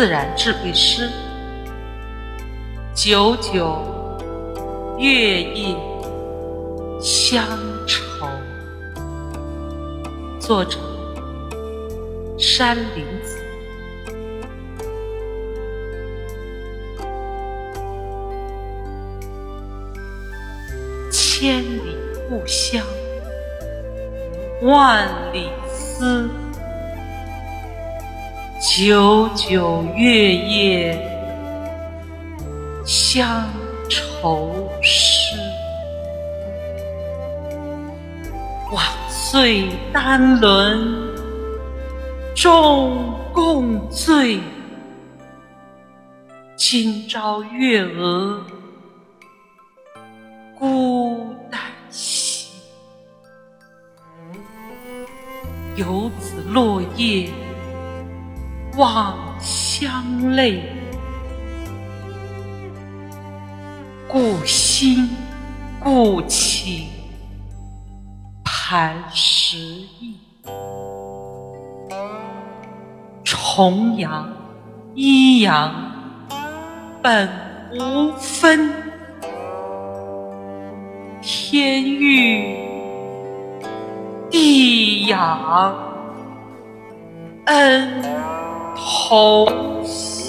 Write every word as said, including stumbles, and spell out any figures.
自然智慧诗。久久月夜乡愁。作者：山林子。千里故乡，万里思。久久月夜乡愁诗。往岁单轮终共醉，今朝月娥孤单西。游子落叶望乡泪，故心故情磐石意。重阳一阳本无分，天欲地养恩同心。